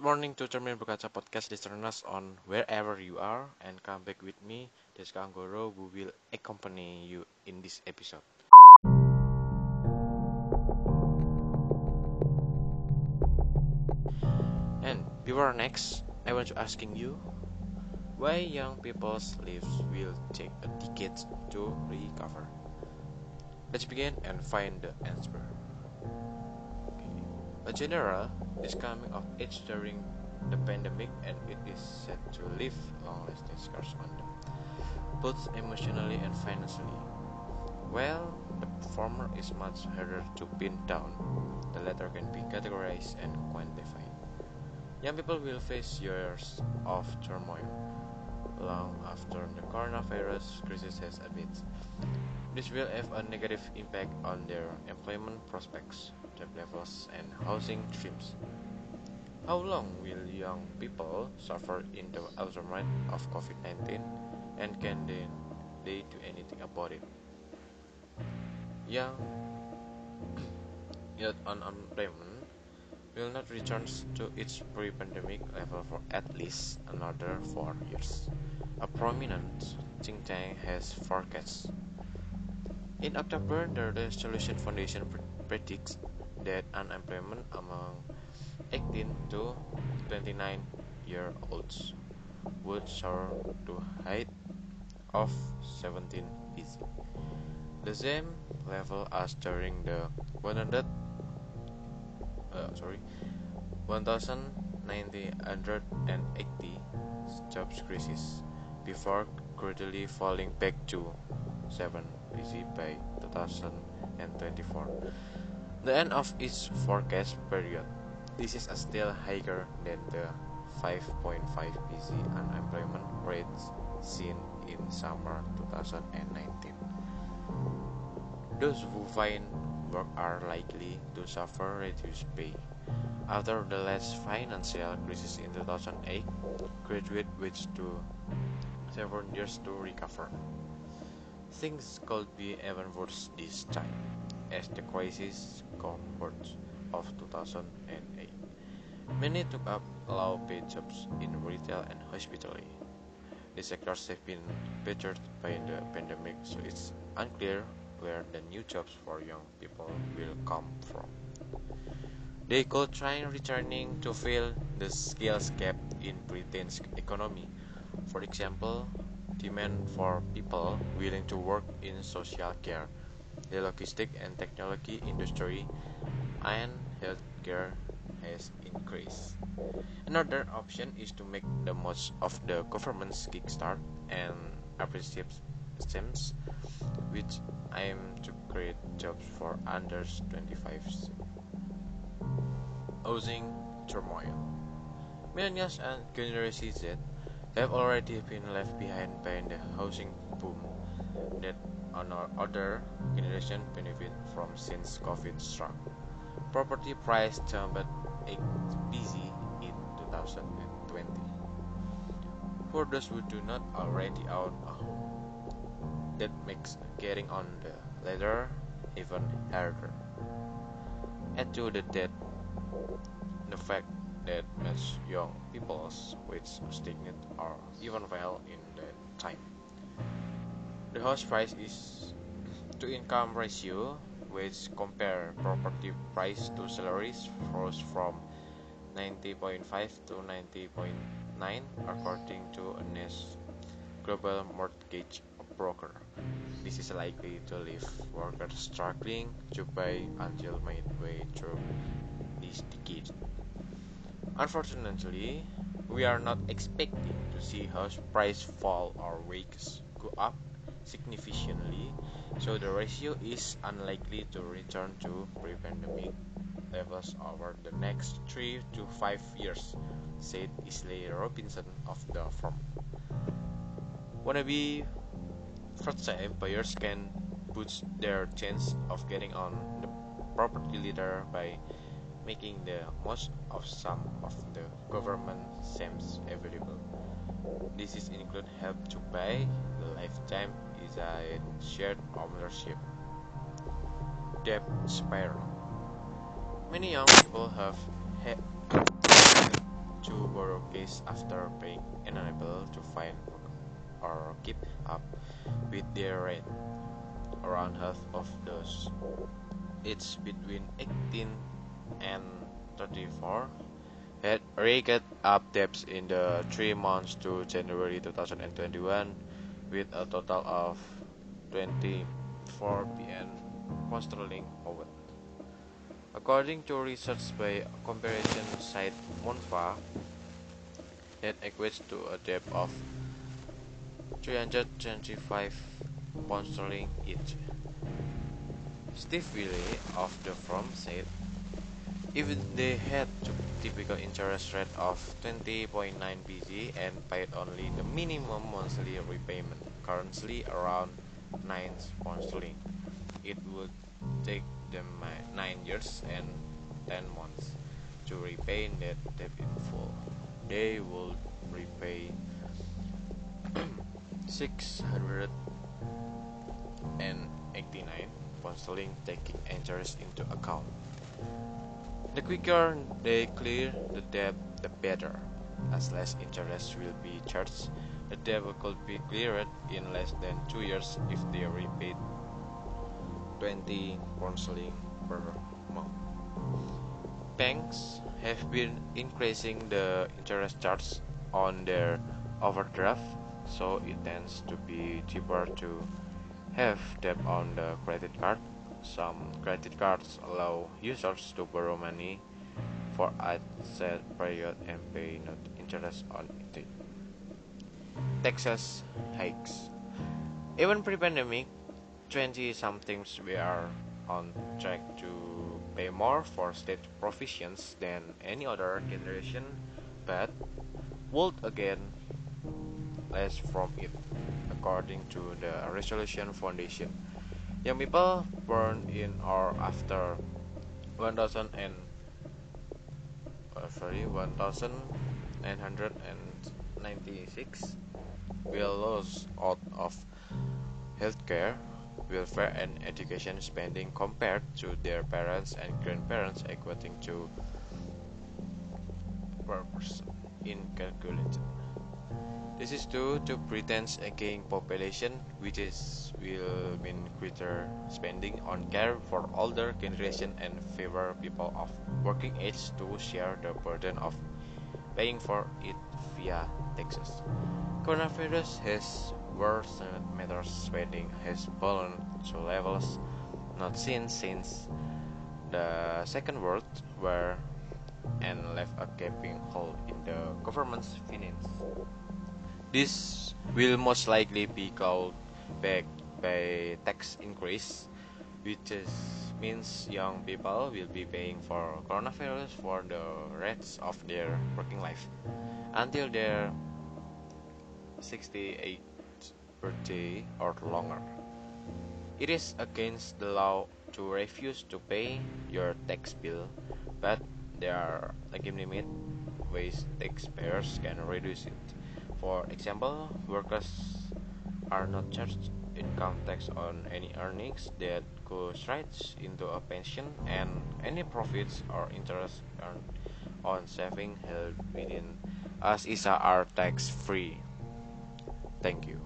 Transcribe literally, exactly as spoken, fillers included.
morning to Cermin Berkaca Podcast listeners on wherever you are, and come back with me, Deska Anggoro, who will accompany you in this episode. And before next, I want to asking you, why young people's lives will take a decade to recover? Let's begin and find the answer. Okay. A general is coming of age during the pandemic, and it is said to leave long-lasting scars on them, both emotionally and financially. While the former is much harder to pin down, the latter can be categorized and quantified. Young people will face years of turmoil long after the coronavirus crisis has abated. This will have a negative impact on their employment prospects, job levels, and housing dreams. How long will young people suffer in the aftermath of COVID nineteen, and can they, they do anything about it? Young youth unemployment will not return to its pre-pandemic level for at least another four years. A prominent think tank has forecast. In October, the Resolution Foundation predicts that unemployment among eighteen to twenty-nine year olds would soar to height of seventeen percent, the same level as during the one hundred uh, sorry one thousand nine hundred eighty jobs crisis, before gradually falling back to seven percent by two thousand twenty-four, the end of its forecast period. This is still higher than the five point five percent unemployment rate seen in summer twenty nineteen. Those who find work are likely to suffer reduced pay. After the last financial crisis in two thousand eight, graduate wage to seven years to recover. Things could be even worse this time, as the crisis cohort of two thousand eight. Many took up low-paid jobs in retail and hospitality. These sectors have been battered by the pandemic, so it's unclear where the new jobs for young people will come from. They could try returning to fill the skills gap in Britain's economy. For example, demand for people willing to work in social care, the logistic and technology industry, and healthcare has increased. Another option is to make the most of the government's Kickstart and apprenticeship schemes, which aim to create jobs for under twenty-fives. Housing turmoil. Millennials and Generation Z have already been left behind by the housing boom that other generation benefit from since COVID struck. Property price jumped eight percent in two thousand twenty. For those who do not already own a home, that makes getting on the ladder even harder. Add to the debt the fact that most young people's wages stagnate or even fell in that time. The house price is to income ratio, which compare property price to salaries, rose from ninety point five to ninety point nine according to a N E S Global Mortgage Broker. This is likely to leave workers struggling to buy until midway through this decade. Unfortunately, we are not expecting to see house price fall or wages go up significantly, so the ratio is unlikely to return to pre-pandemic levels over the next three to five years, said Isley Robinson of the firm. Wannabe first-time buyers can boost their chance of getting on the property ladder by making the most of some of the government schemes available. This is include help to buy, the lifetime is a shared ownership. Debt spiral. Many young people have had to borrow cash after being unable to find work or keep up with their rate. Around half of those aged between eighteen and thirty-four had racked up debts in the three months to January two thousand twenty-one, with a total of twenty-four billion pound sterling owed. According to research by comparison site Monfa, that equates to a debt of three hundred twenty-five pound sterling each. Steve Willey of the firm said, if they had a typical interest rate of twenty point nine percent and paid only the minimum monthly repayment, currently around nine pound sterling, it would take them nine years and ten months to repay that debt in full. They would repay six hundred eighty-nine pound sterling, taking interest into account. The quicker they clear the debt, the better, as less interest will be charged. The debt could be cleared in less than two years if they repaid twenty pound sterling per month. Banks have been increasing the interest charge on their overdraft, so it tends to be cheaper to have debt on the credit card. Some credit cards allow users to borrow money for a set period and pay no interest on it. Taxes hikes. Even pre-pandemic, twenty-somethings were on track to pay more for state provisions than any other generation, but would again less from it, according to the Resolution Foundation. Young people born in or after one thousand and uh, sorry one thousand nine hundred ninety-six will lose out of healthcare, welfare, and education spending compared to their parents and grandparents, equating to per person in calculation. This is due to pretense aging population, which is will mean greater spending on care for older generation and favor people of working age to share the burden of paying for it via taxes. Coronavirus has worsened matters. Spending has fallen to levels not seen since the Second World War and left a gaping hole in the government's finances. This will most likely be called back by tax increase, which is, means young people will be paying for coronavirus for the rest of their working life until their sixty-eighth birthday or longer. It is against the law to refuse to pay your tax bill, but there are legitimate ways taxpayers can reduce it. For example, workers are not charged income tax on any earnings that go straight into a pension, and any profits or interest earned on savings held within us is are tax free. Thank you.